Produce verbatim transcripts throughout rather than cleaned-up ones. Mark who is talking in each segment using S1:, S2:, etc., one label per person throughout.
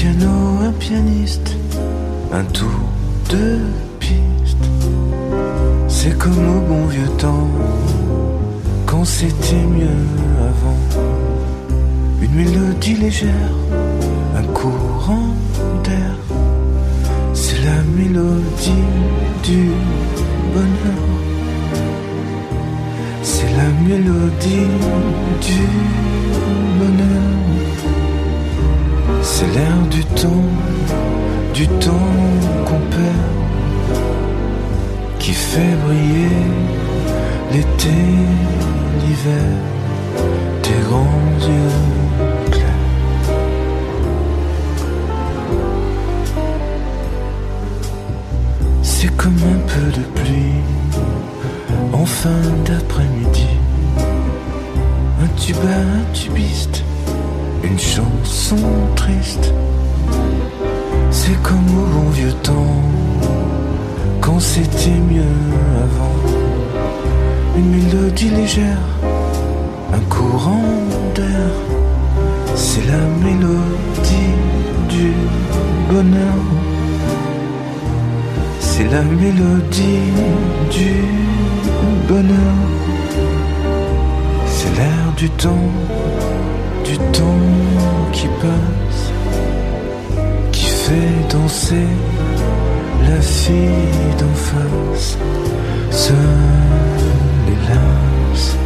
S1: piano, un pianiste, un tour de piste. C'est comme au bon vieux temps, quand c'était mieux avant. Une mélodie légère, un courant d'air. C'est la mélodie du bonheur. C'est la mélodie du bonheur. C'est l'air du temps, du temps qu'on perd, qui fait briller l'été, l'hiver, tes grands yeux clairs. C'est comme un peu de pluie en fin d'après-midi, un tuba, un tubiste, une chanson triste. C'est comme au bon vieux temps, quand c'était mieux avant. Une mélodie légère, un courant d'air. C'est la mélodie du bonheur. C'est la mélodie du bonheur. C'est l'air du temps, du temps qui passe, qui fait danser la fille d'en face, seule et lasse.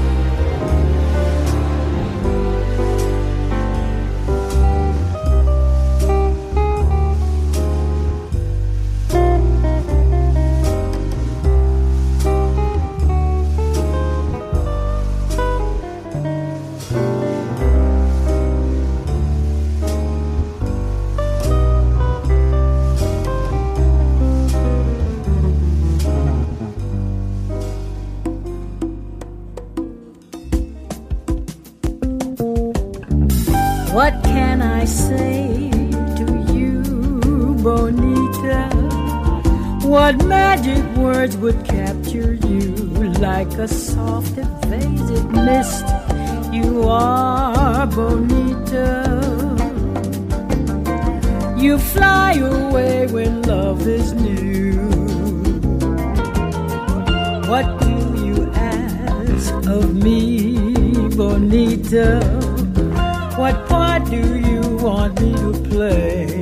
S2: What can I say to you, Bonita? What magic words would capture you like a soft evasive mist? You are Bonita. You fly away when love is new. What do you ask of me, Bonita? What part do you want me to play?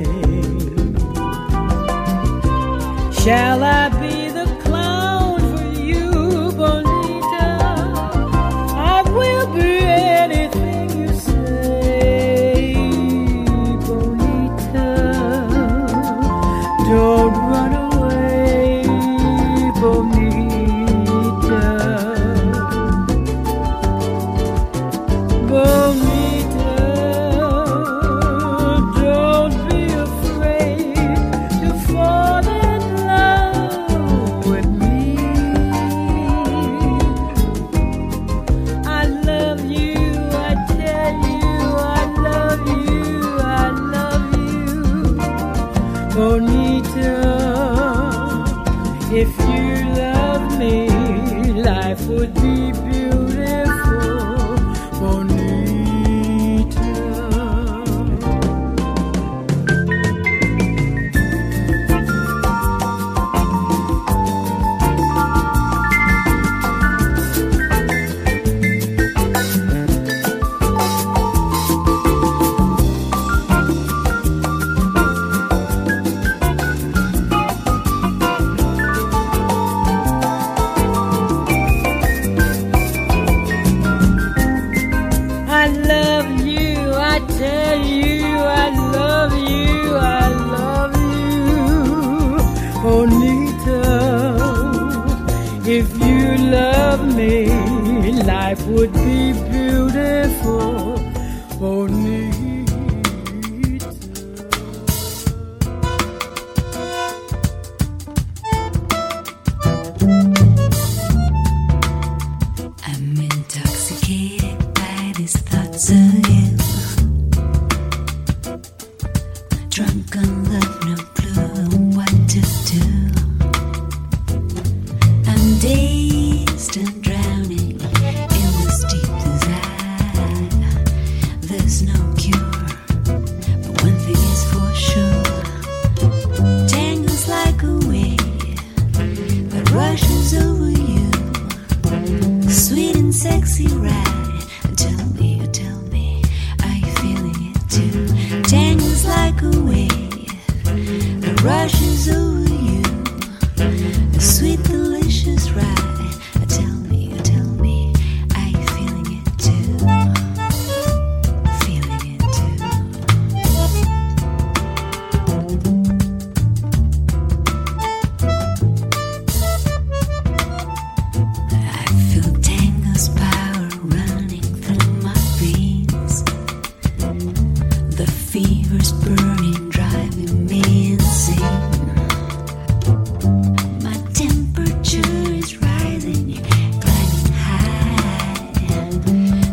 S2: Shall I be the clown for you, Bonita? I will be anything you say, Bonita. Don't run away, Bonita. Bonita. Bonita, if you love me, life would be beautiful, Bonita. If you love me, life would be beautiful, Bonita.
S3: I'm intoxicated by these thoughts of you. Drunk on love, no clue what to do. Dazed and drowning in this deep desire. There's no cure, but one thing is for sure.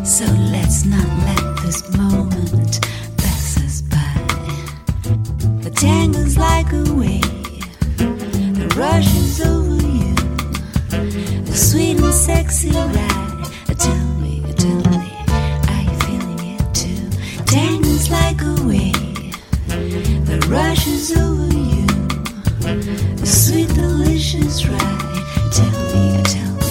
S3: So let's not let this moment pass us by. The tangle's like a wave that rushes over you. The sweet and sexy ride. Tell me, tell me, are you feeling it too? Tangle's like a wave that rushes over you. The sweet, delicious ride. Tell me, tell me.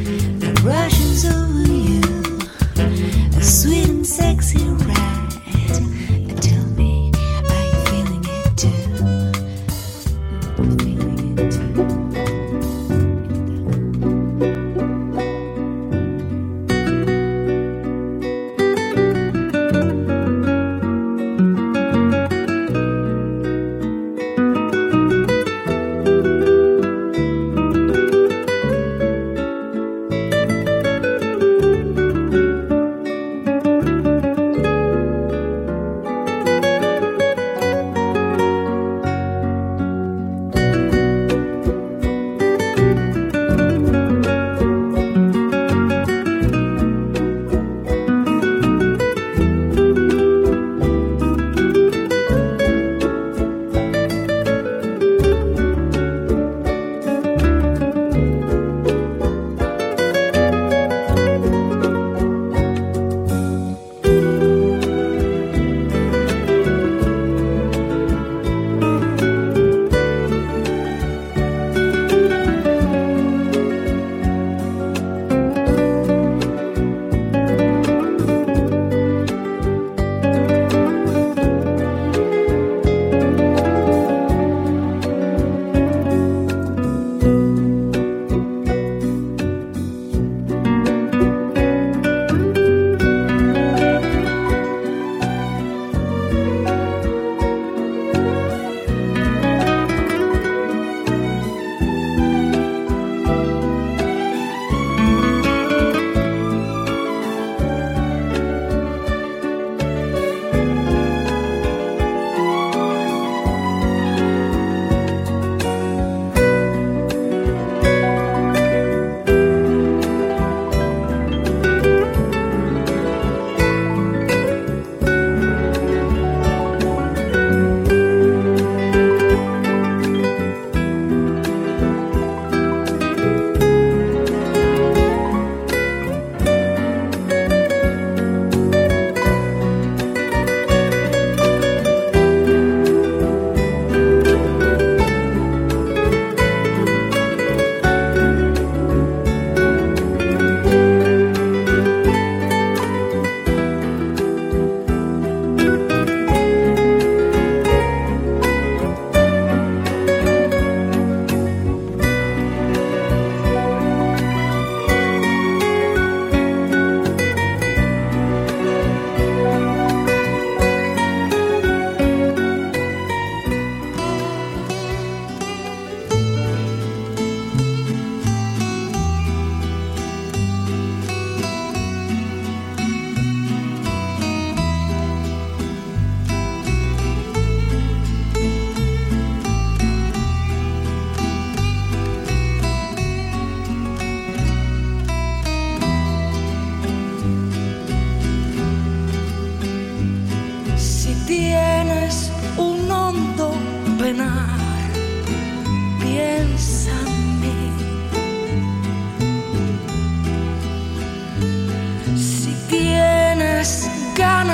S3: Rushes over you, a sweet and sexy ride.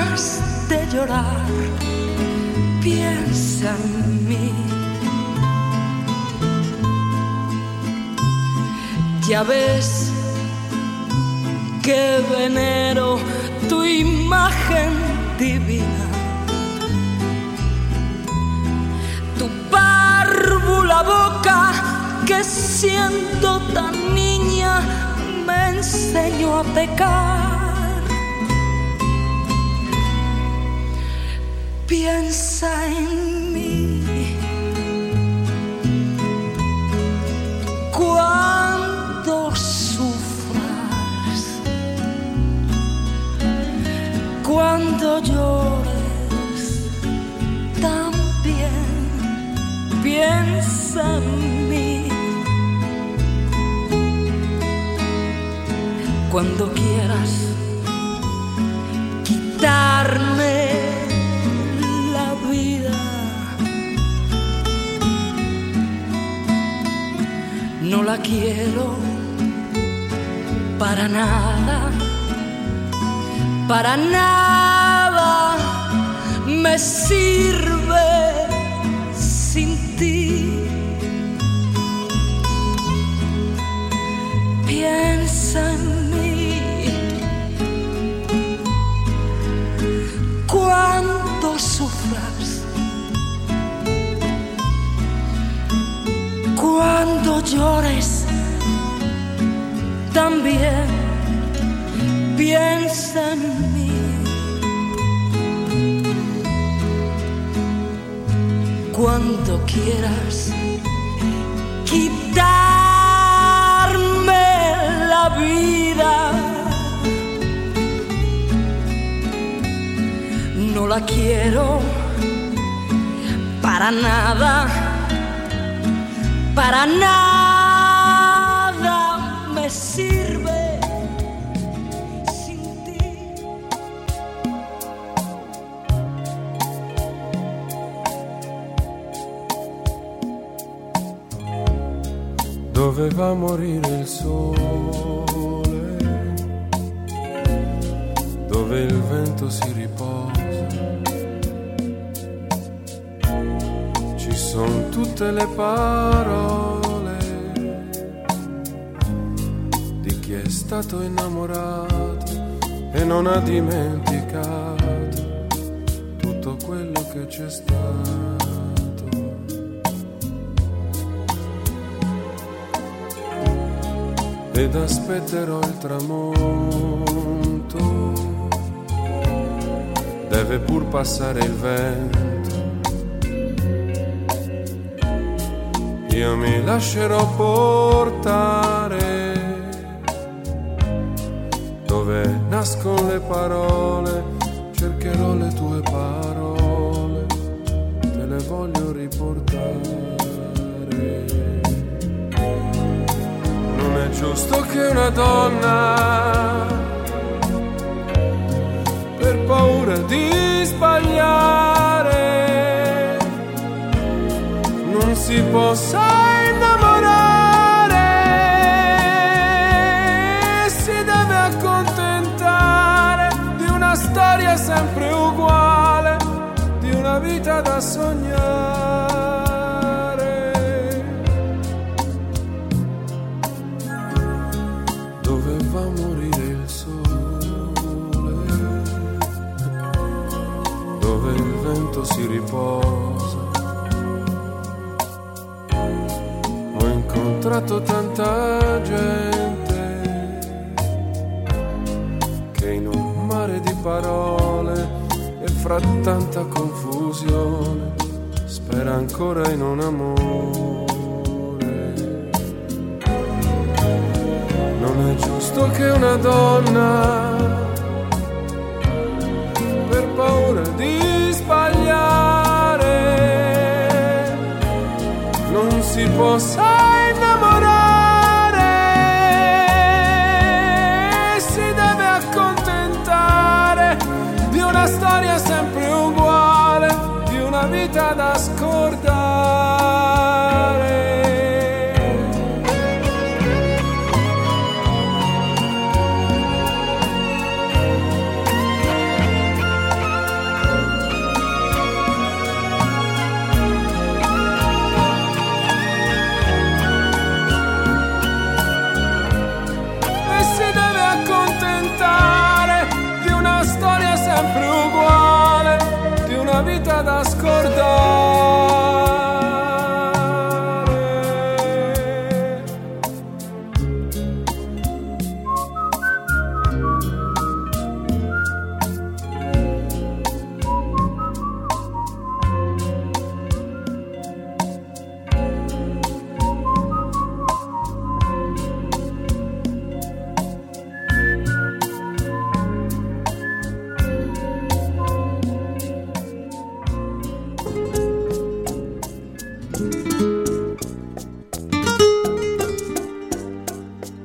S3: ganas de llorar, piensa en mí. Ya ves que venero tu imagen divina, tu párvula boca que siendo tan niña me enseñó a pecar. Piensa en mí cuando sufras, cuando llores también. Piensa en mí cuando quieras quitarme la vida. No la quiero para nada, para nada me sirve sin ti. Piensa en mí cuando sufras, cuando llores también. Piensa en mí cuando quieras quitarme la vida. No la quiero para nada, para nada me sirve sin ti.
S1: Doveva morire il sole, dove il vento si riposa. Ci sono tutte le parole di chi è stato innamorato e non ha dimenticato tutto quello che c'è stato. Ed aspetterò il tramonto, deve pur passare il vento. Io mi lascerò portare dove nascono le parole, cercherò le tue parole, te le voglio riportare. Non è giusto che una donna, per paura di sbagliare, non si possa innamorare, si deve accontentare di una storia sempre uguale, di una vita da sognare. Doveva morire il sole, dove il vento si riposa. Ho incontrato tanta gente che in un mare di parole e fra tanta confusione spera ancora in un amore. Non è giusto che una donna, per paura di sbagliare, non si possa innamorare, si deve accontentare di una storia sempre uguale, di una vita da scordare.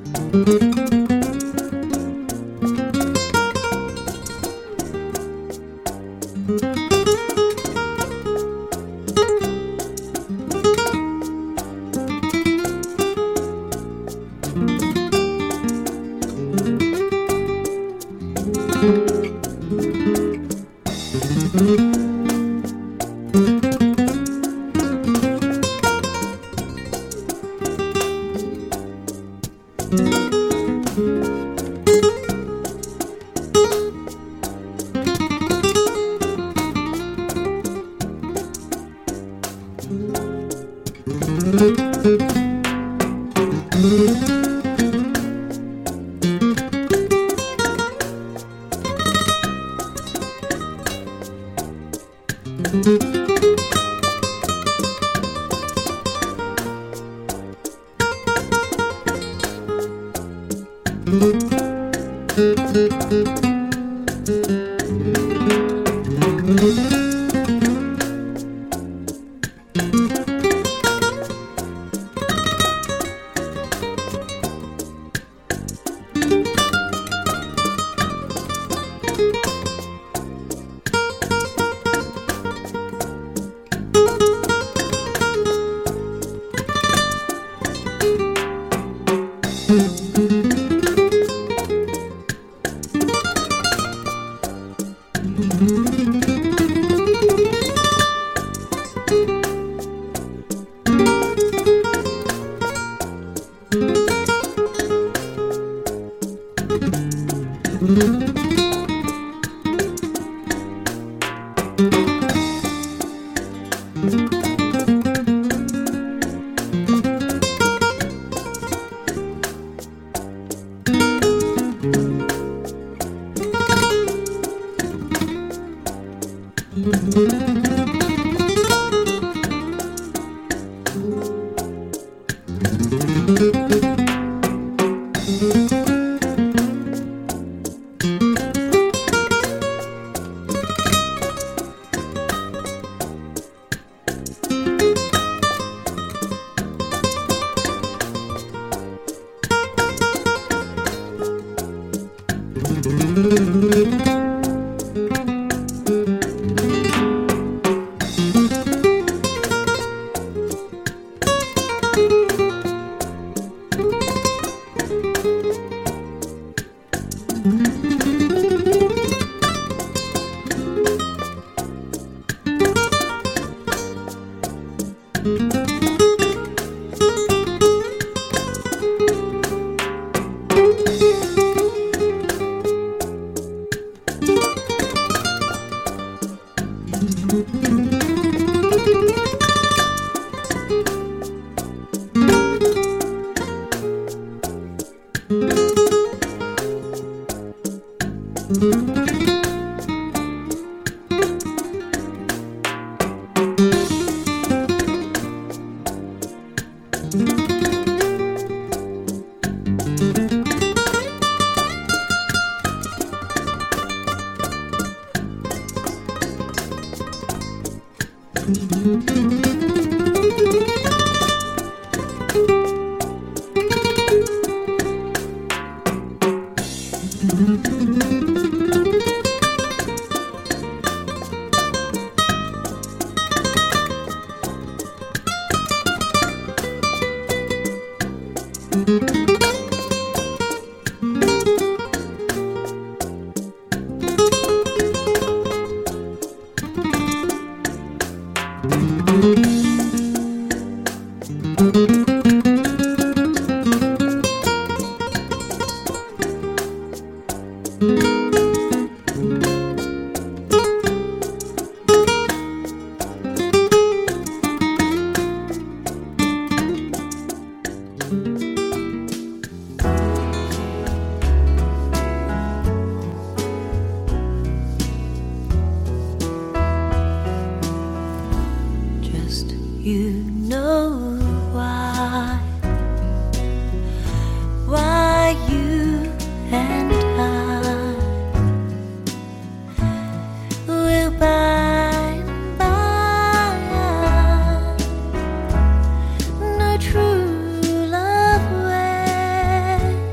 S4: True love way.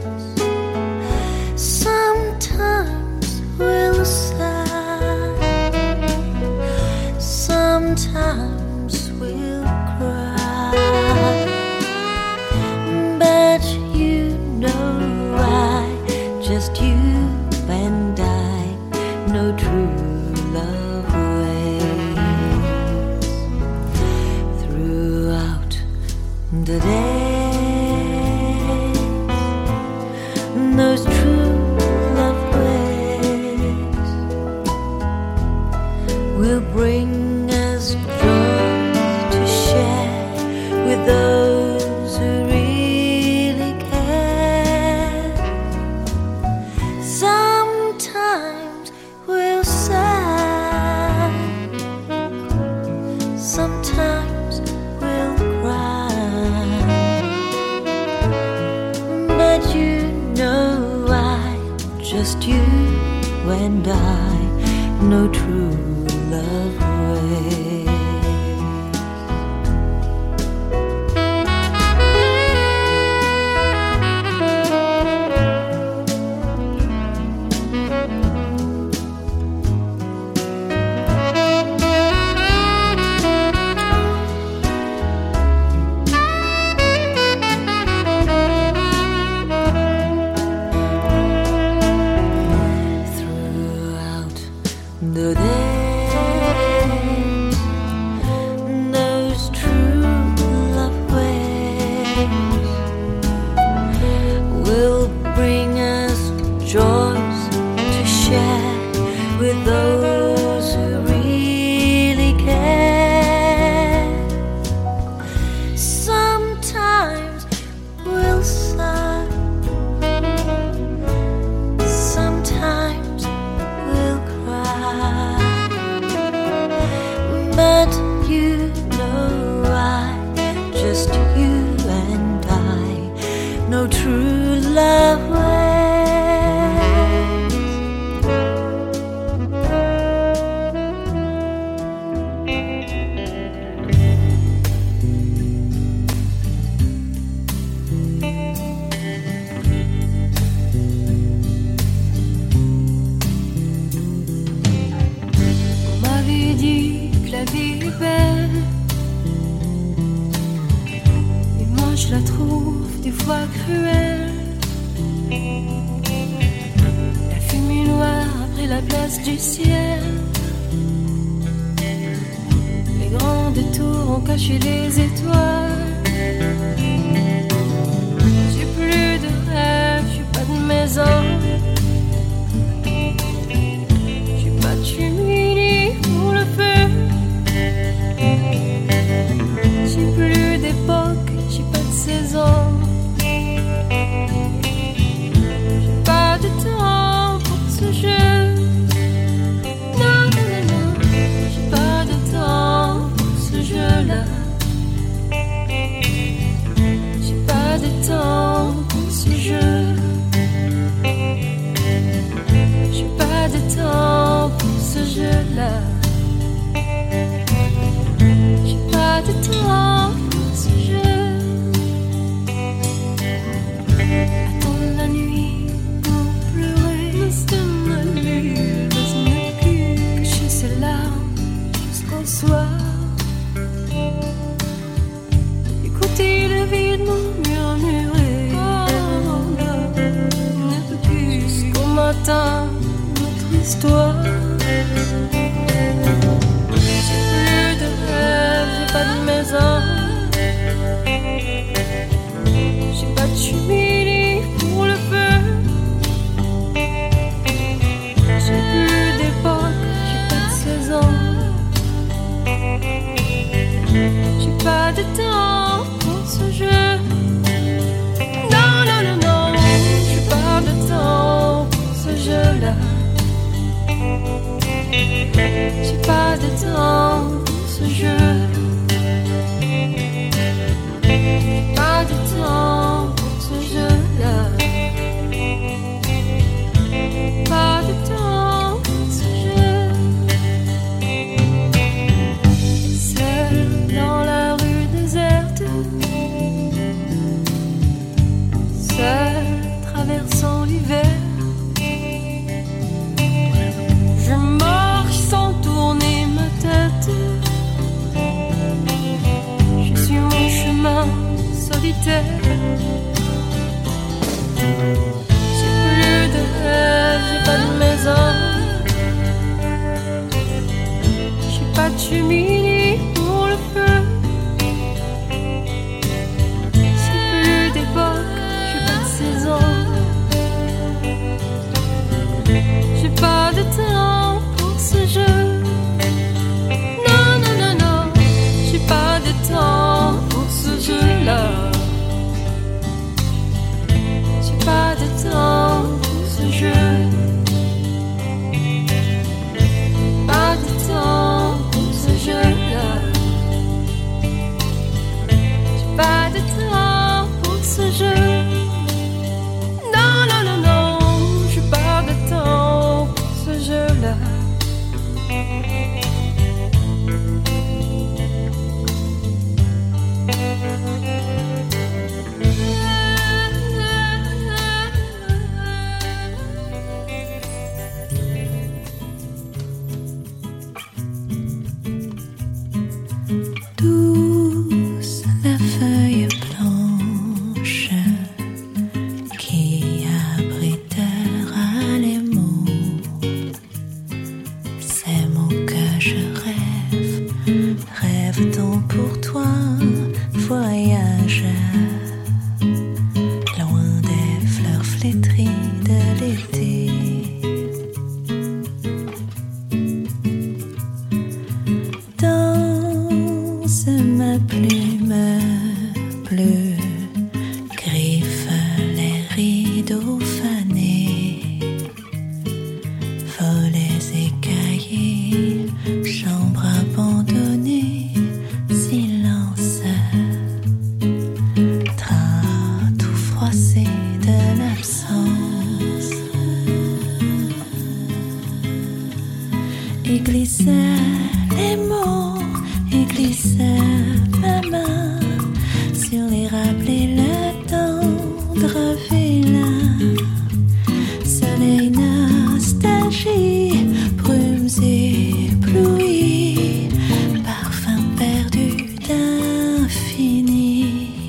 S3: those true love ways will bring us joy to share with those who really care. Sometimes we'll sigh, sometimes we'll cry, but you know I, just you and I, know true love ways. Throughout the day, those true love ways will bring us joys to share with those who really care. Sometimes we'll sigh, sometimes we'll cry, but you know I, just you and I, know true love ways.
S4: On m'avait dit que la vie est belle, et moi je la trouve des fois cruelle. La fumée noire a pris la place du ciel, les grandes tours ont caché les étoiles. J'ai plus de rêve, j'ai pas de maison, j'ai pas de cheminée pour le feu. J'ai plus d'époque, j'ai pas de saison, j'ai pas de temps pour ce jeu. Non, non, non, non, j'ai pas de temps pour ce jeu-là. J'ai pas de temps pour ce jeu. J'ai pas de temps pour ce jeu-là. J'ai pas de temps pour ce jeu. Attendre la nuit pour pleurer, rester mal vu, cacher ses larmes jusqu'au soir. Écouter le vide murmurer, jusqu'au matin, notre histoire. J'ai plus de rêve, j'ai pas de maison, j'ai pas de cheminée pour le feu. J'ai plus d'époque, j'ai pas de saison, j'ai pas de temps pour ce jeu. Non, non, non, non, j'ai pas de temps pour ce jeu-là. J'ai pas de temps pour ce jeu. Pas de temps pour ce jeu-là. Pas de temps pour ce jeu. Seul dans la rue déserte, seul traversant l'hiver, je marche sans tourner ma tête. Je suis mon chemin solitaire. J'ai plus de rêve, j'ai pas de maison, j'ai pas de cheminée pour le feu. J'ai plus d'époque, j'ai pas de saison,
S3: flétrie de l'été. Danse ma plume bleue, griffe les rideaux fanés, volets et cahiers, chambre abandonnée, silence, train tout froissé de l'absence, et glissait les mots, et glissait ma main sur les rappelés, le tendre vilain, soleil, nostalgie, brumes éblouies, parfum perdu d'infini.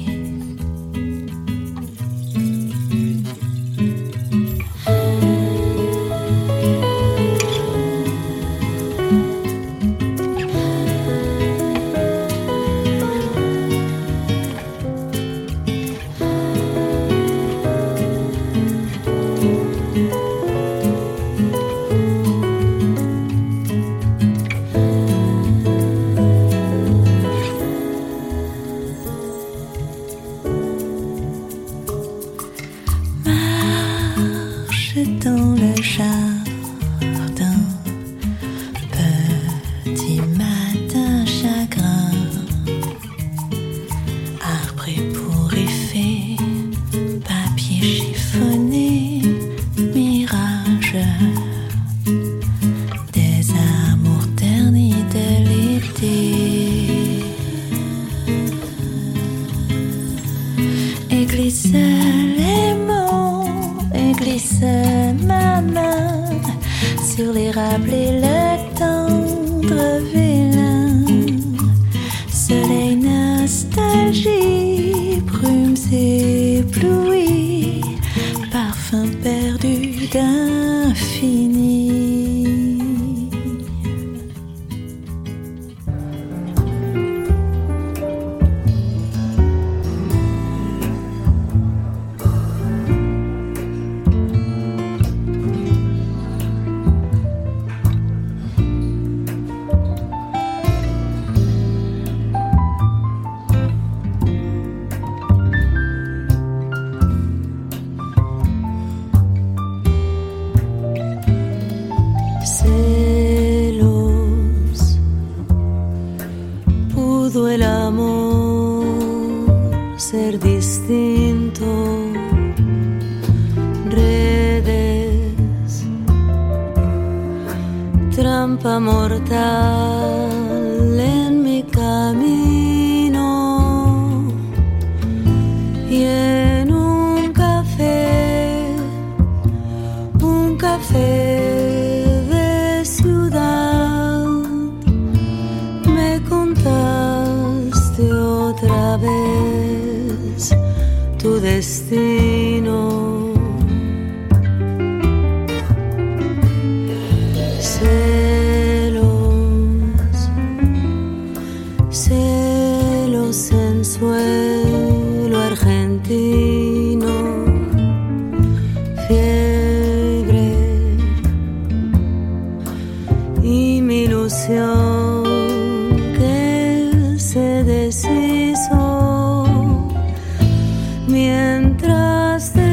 S3: Dans le jardin, petit matin chagrin, arbre ébouriffé, papier chiffonné, mirage, des amours ternis de l'été, et glissait les mots, et glissait ma main sur les rappelés, le tendre vilain, soleil, nostalgie, brumes éblouies, parfum perdu d'infini. Celos, pudo el amor ser distinto, redes, trampa mortal en mi camino, y en un café, un café otra vez tu destino. Celos, celos en suelo argentino, fiebre y mi ilusión se deshizo mientras te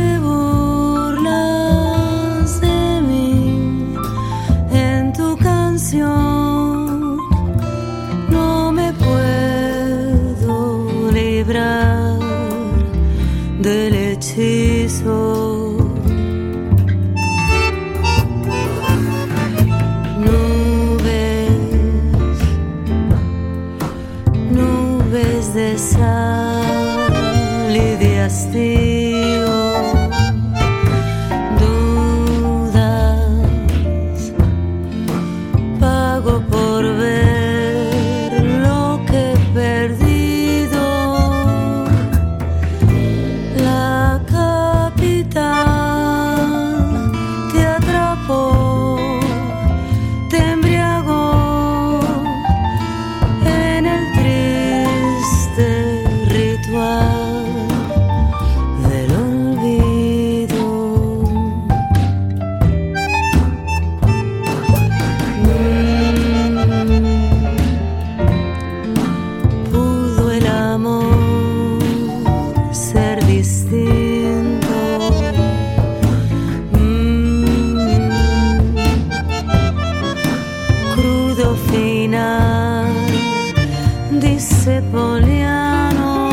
S3: Poliano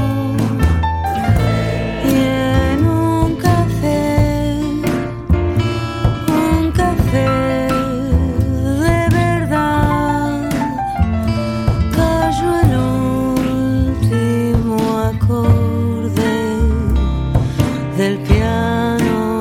S3: y en un café, un café de verdad, cayó el último acorde del piano.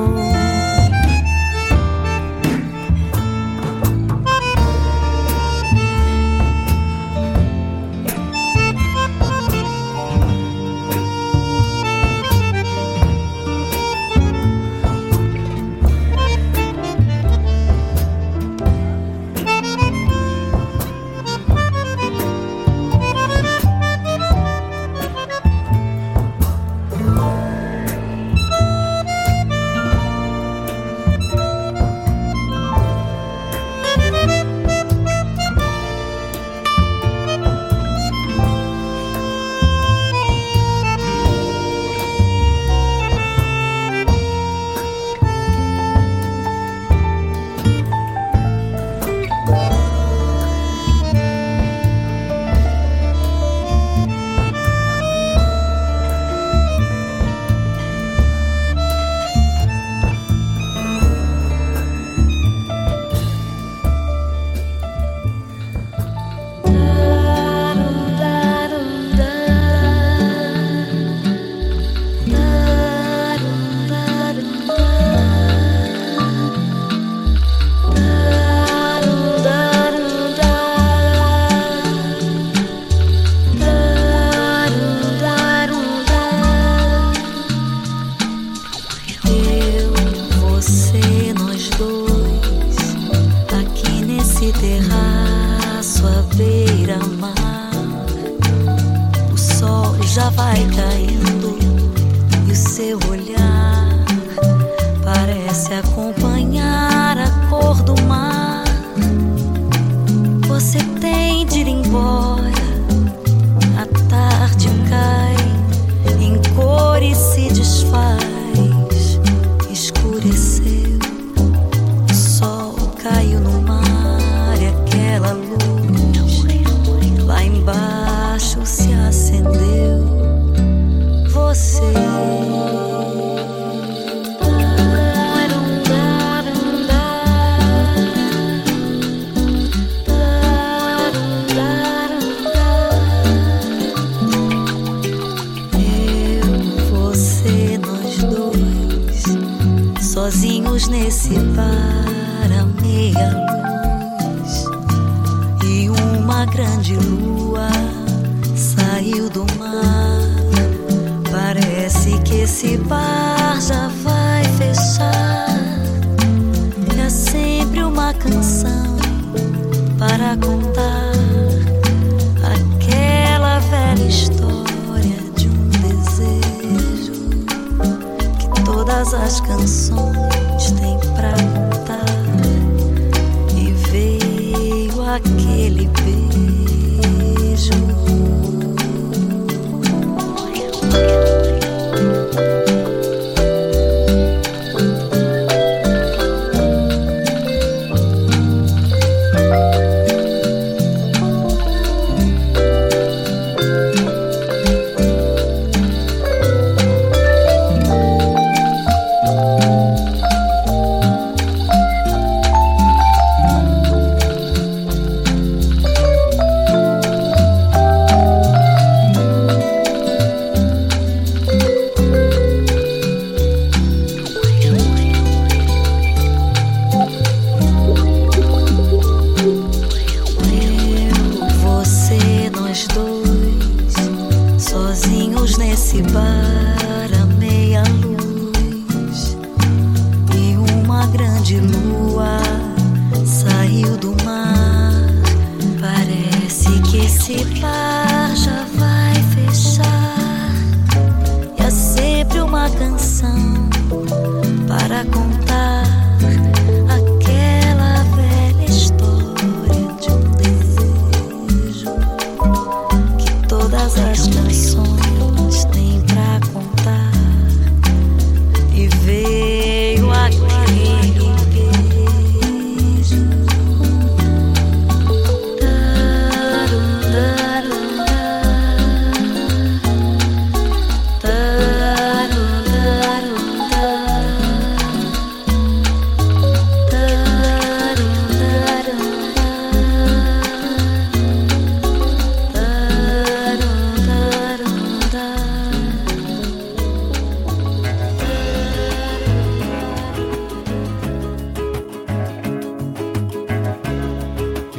S5: Sozinhos nesse bar à meia-luz, e uma grande lua saiu do mar. Parece que esse bar já vai fechar. É sempre uma canção para contar aquela velha história de um desejo que todas as canções têm pra contar. E veio aquele beijo.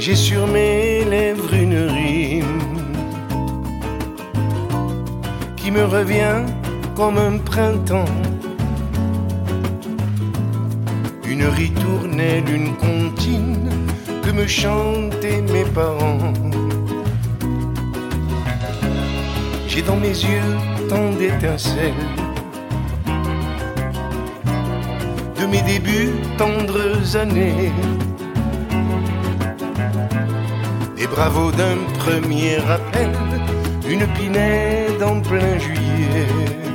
S6: J'ai sur mes lèvres une rime qui me revient comme un printemps, une ritournelle, une comptine que me chantaient mes parents. J'ai dans mes yeux tant d'étincelles de mes débuts, tendres années, des bravos d'un premier appel, une pinède en plein juillet.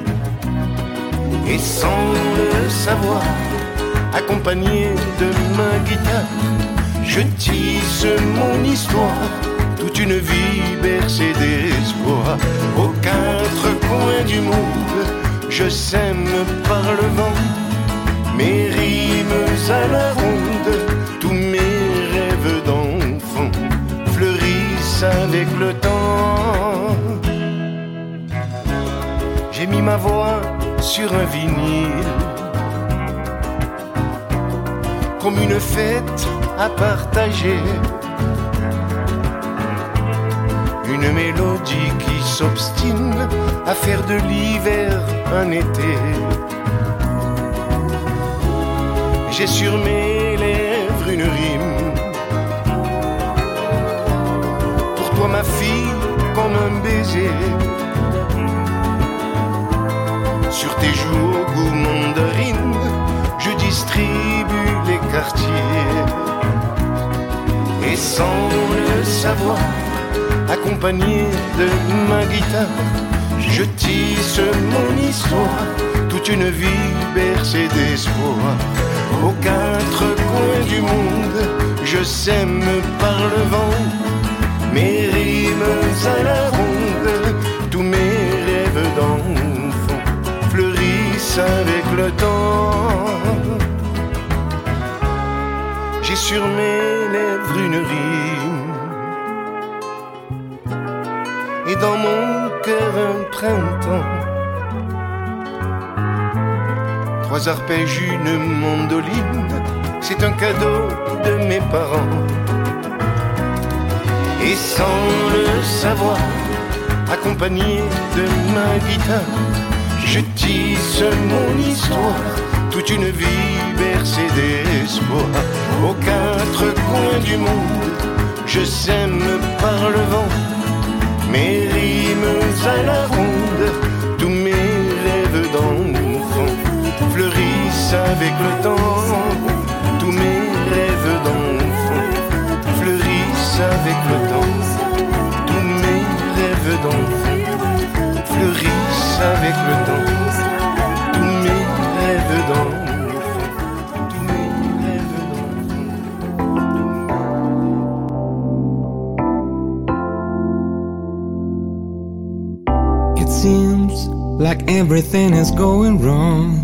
S6: Et sans le savoir, accompagné de ma guitare, je tisse mon histoire, toute une vie bercée d'espoir. Aux quatre coins du monde, je sème par le vent mes rimes à la ronde, tous mes rêves d'enfant fleurissent avec le temps. J'ai mis ma voix sur un vinyle, comme une fête à partager, une mélodie qui s'obstine à faire de l'hiver un été. J'ai sur mes lèvres une rime, pour toi ma fille comme un baiser, sur tes joues au goût mandarine, je distribue les quartiers. Et sans le savoir, accompagné de ma guitare, je tisse mon histoire, toute une vie bercée d'espoir. Aux quatre coins du monde, je sème par le vent mes rimes à la ronde, tous mes rêves d'enfant fleurissent avec le temps. J'ai sur mes lèvres une rime, et dans mon cœur un printemps, trois arpèges, une mandoline, c'est un cadeau de mes parents. Et sans le savoir, accompagné de ma guitare, je tisse mon histoire, toute une vie bercée d'espoir. Aux quatre coins du monde, je sème par le vent mes rimes à la ronde, tous mes rêves d'enfant fleurissent avec le temps, tous mes rêves d'enfant fleurissent avec le temps, tous mes rêves d'enfant fleurissent avec le temps, tous mes rêves d'enfant, tous mes rêves
S7: d'enfant. It seems like everything is going wrong.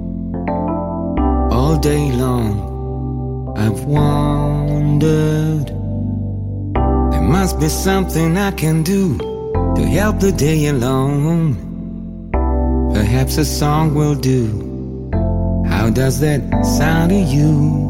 S7: All day long I've wondered, there must be something I can do to help the day along. Perhaps a song will do. How does that sound to you?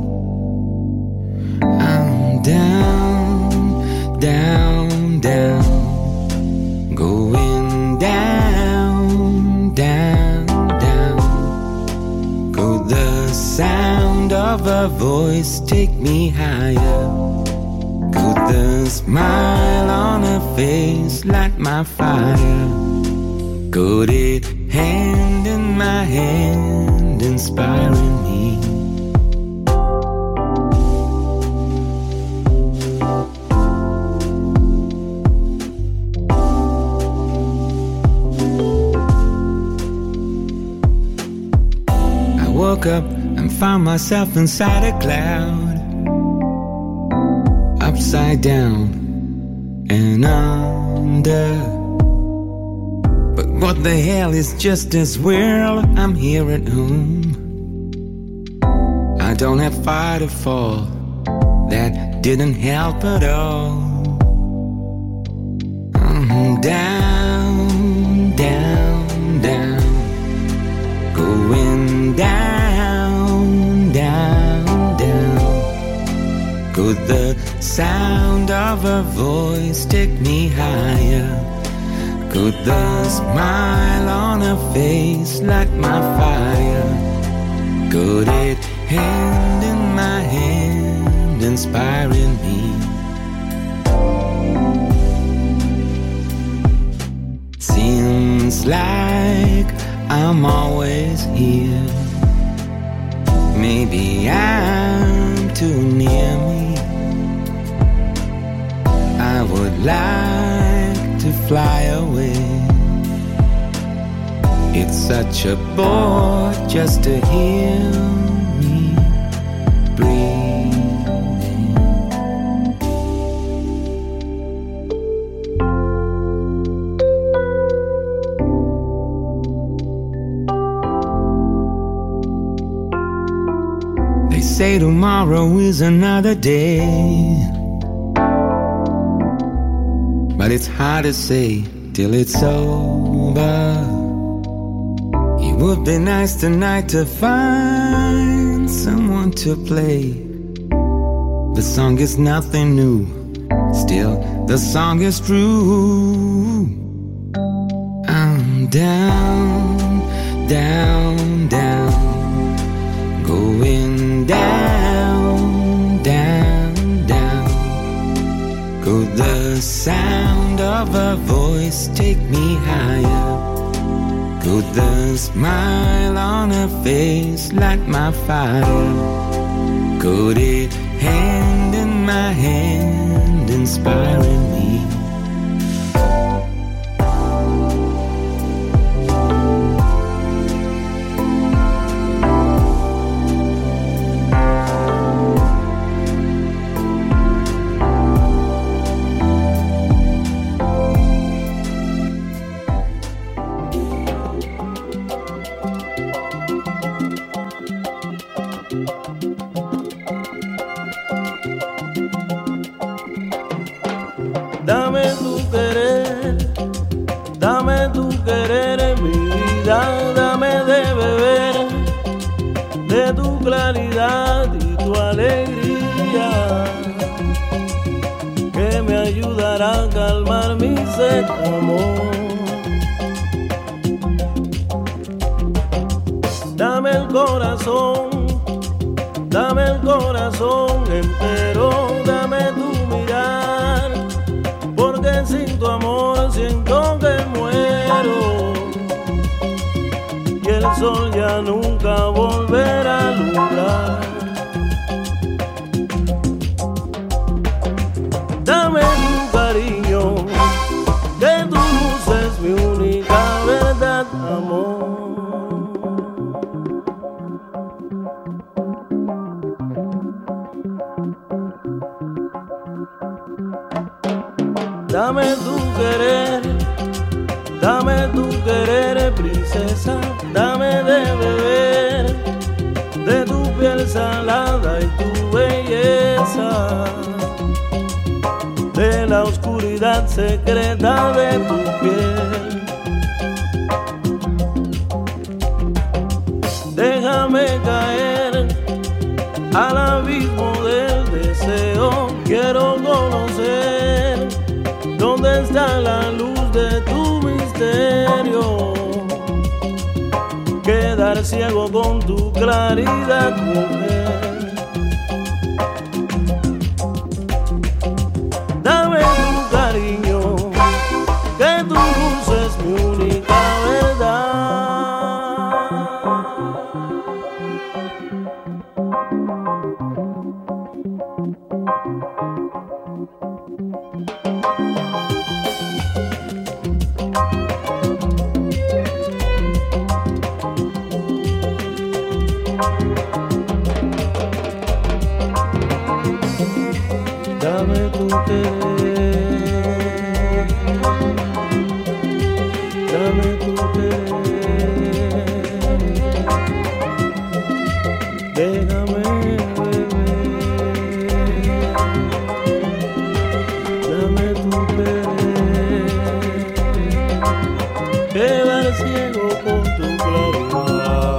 S7: I'm down, down, down, going down, down, down. Go the sound of a voice take me higher. Could the smile on her face light my fire? Could it hand in my hand inspiring me? I woke up and found myself inside a cloud, upside down and under. But what the hell is just as well? I'm here at home. I don't have far to fall. That didn't help at all. I'm down, down, down, going down, down, down. Could the sound of her voice take me higher? Could the smile on her face light my fire? Could it hand in my hand, inspiring me? Seems like I'm always here. Maybe I'm too near me. I would like to fly away. It's such a bore just to hear me breathing. They say tomorrow is another day, but it's hard to say till it's over. It would be nice tonight to find someone to play. The song is nothing new, still the song is true. I'm down, down, down, going down, down, down. Could the sound of her voice take me higher? Could the smile on her face light my fire? Could it hand in my hand, inspiring me?
S8: Dame tu querer, dame tu querer en mi vida, dame de beber de tu claridad y tu alegría, que me ayudará a calmar mi sed, amor. Dame el corazón, dame el corazón entero, dame tu mirar, porque sin tu amor siento que muero y el sol ya nunca volverá a alumbrar. Dame tu cariño, que tu luz es mi única verdad, amor. Dame tu querer, dame tu querer, princesa, dame de beber de tu piel salada y tu belleza, de la oscuridad secreta de tu piel. Déjame caer al abismo del deseo, quiero conocer dónde está la luz de tu misterio, quedar ciego con tu claridad, mujer. Dame tu cariño, que tu luz es mi única verdad. Dame tu querer, dame tu querer, déjame beber, dame tu querer, quedar ciego con tu claridad.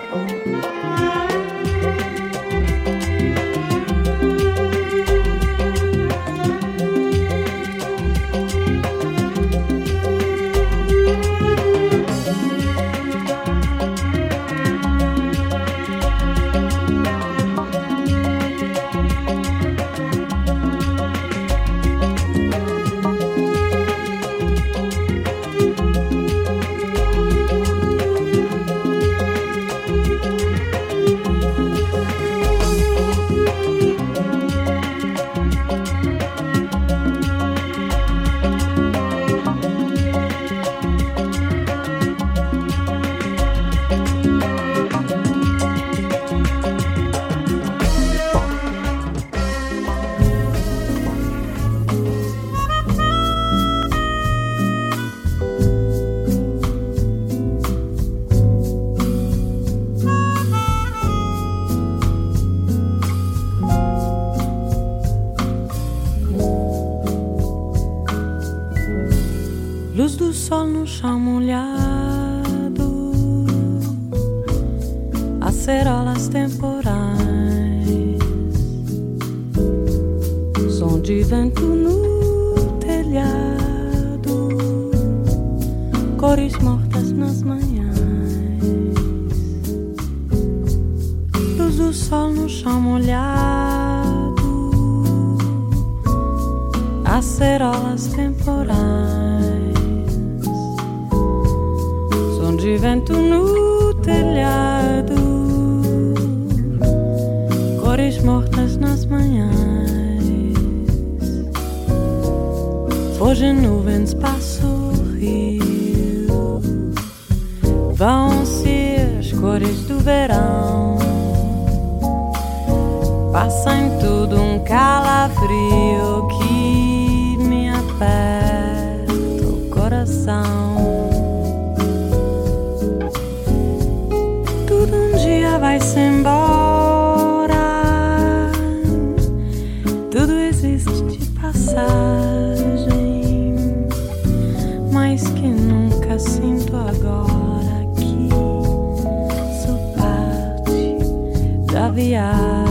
S9: Luz do sol no chão molhado, acerolas temporais, som de vento no telhado, cores mortas nas manhãs. Luz do sol no chão molhado, acerolas temporais, de vento no telhado, cores mortas nas manhãs. Hoje nuvens passam o rio, vão-se as cores do verão, passa em tudo um calafrio que me aperta o coração. Vai-se embora, tudo existe de passagem, mas que nunca sinto agora que sou parte da viagem.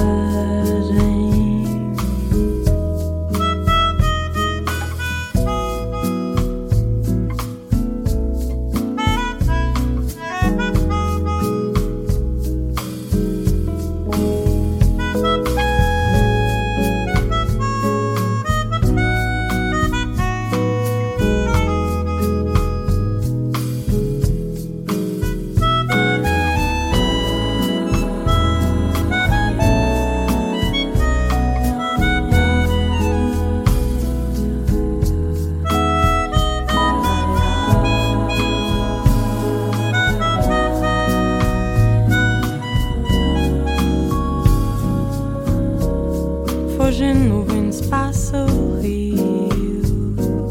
S9: Hoje nuvens passam o rio,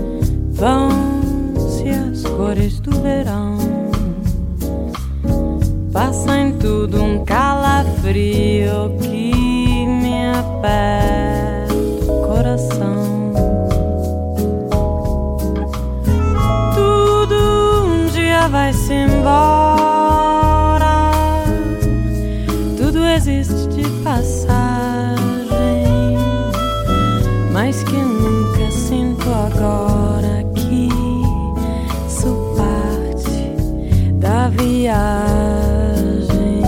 S9: vão-se as cores do verão, passa em tudo um calafrio que me aperta o coração. Tudo um dia vai-se embora, tudo existe de passagem, mas que nunca sinto agora que sou parte da viagem.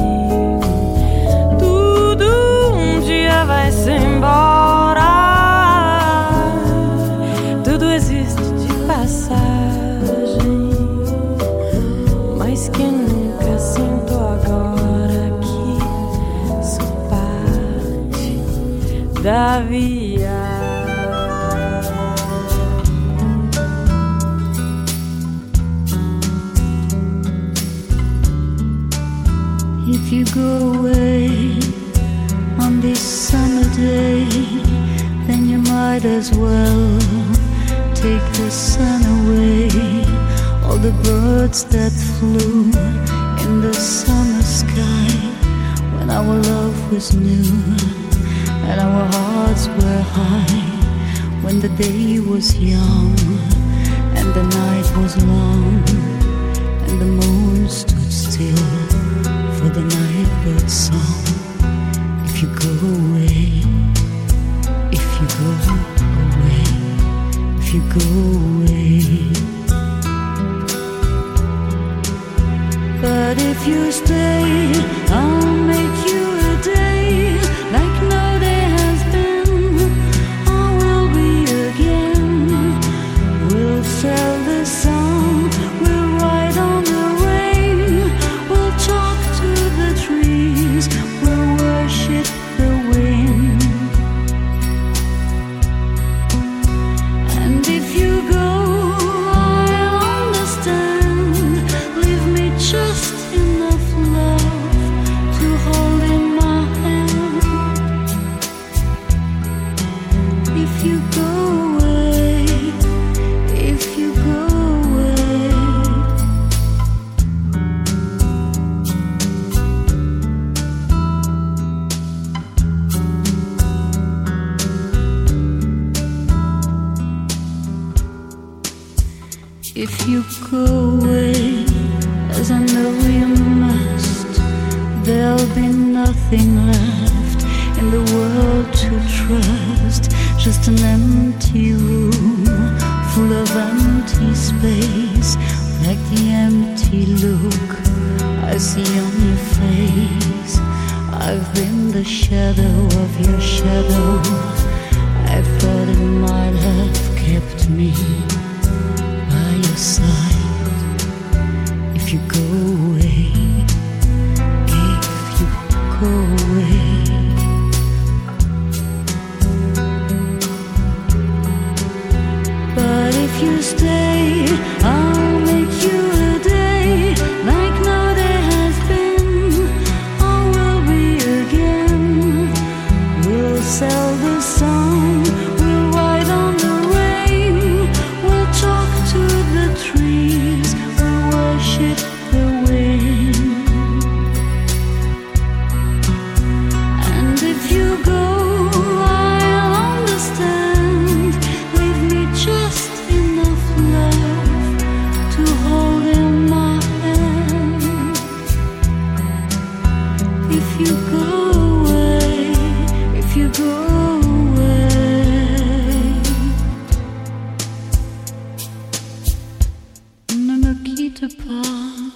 S9: Tudo um dia vai se embora, tudo existe de passagem, mas que nunca sinto agora que sou parte da viagem.
S5: If you go away on this summer day, then you might as well take the sun away. All the birds that flew in the summer sky, when our love was new and our hearts were high, when the day was young and the night was long and the moon stood still for the nightbird song. If you go away, if you go away, if you go away. But if you stay, I'll make you a day like no day has been. I will be again. We'll sell the song, we'll ride on the rain, we'll talk to the trees, we'll worship the wind. And if you go, I'll understand. Leave me just enough love to hold in my hand. If you go away, if you go away. If you go away, as I know you must, there'll be nothing left in the world to trust. Just an empty room full of empty space, like the empty look I see on your face. I've been the shadow of your shadow. I thought it might have kept me by your side. If you go away, if you go away. But if you stay, I'll make you a day like no day has been. I will be again. We'll sell the song, we'll ride on the rain, we'll talk to the trees, we'll worship the wind. And if you go, I'll understand. Leave me just enough love to hold in my hand. If you go away, if you go away, ne me quitte pas.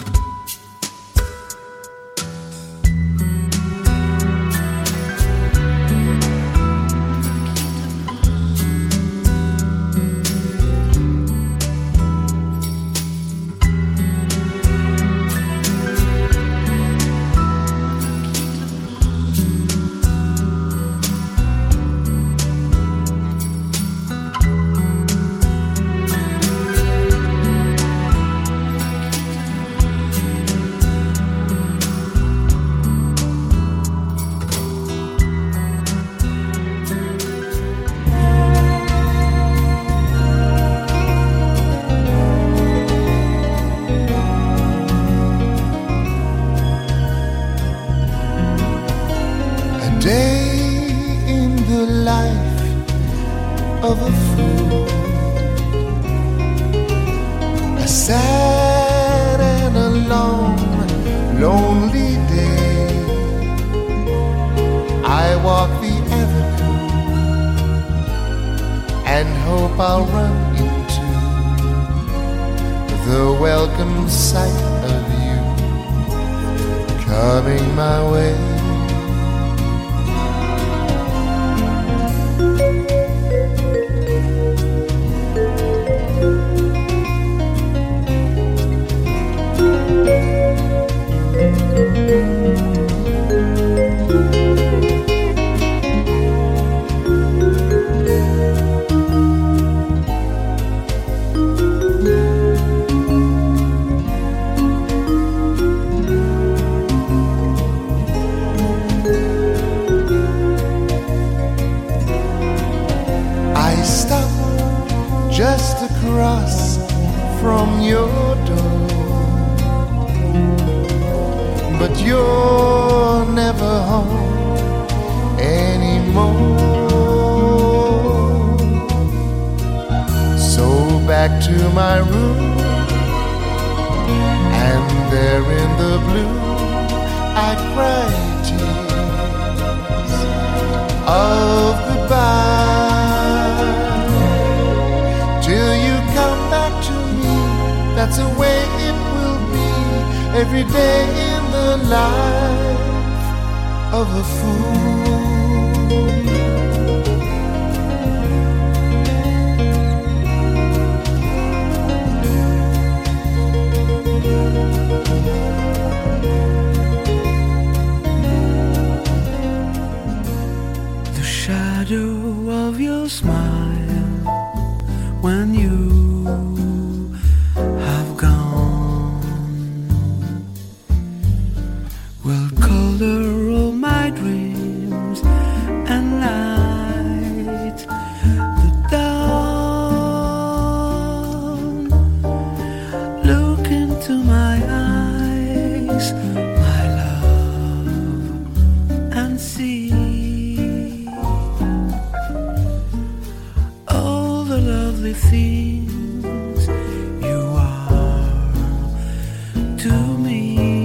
S6: Of a fool, a sad and a long, lonely day. I walk the avenue and hope I'll run into the welcome sight of you coming my way. Just across from your door, but you're never home anymore. So back to my room, and there in the blue I cry tears of goodbye till you come back to me. That's the way it will be every day in the life of a fool.
S1: The shadow of your smile when you have gone will color all my dreams and light the dawn. Look into my eyes, my love, and see all the lovely things you are to me.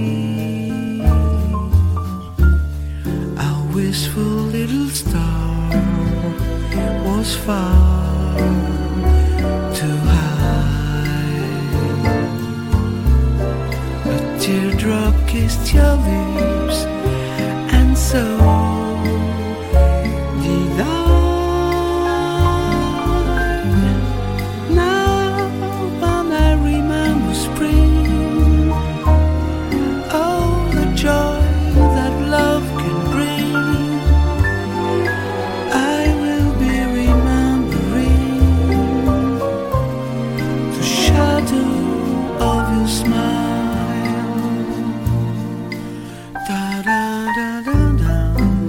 S1: Our wistful little star was far too high. A teardrop kissed your lips, and so did I. Now when I remember spring, oh, the joy that love can bring, I will be remembering the shadow of your smile. Da da da da da.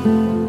S1: Thank you.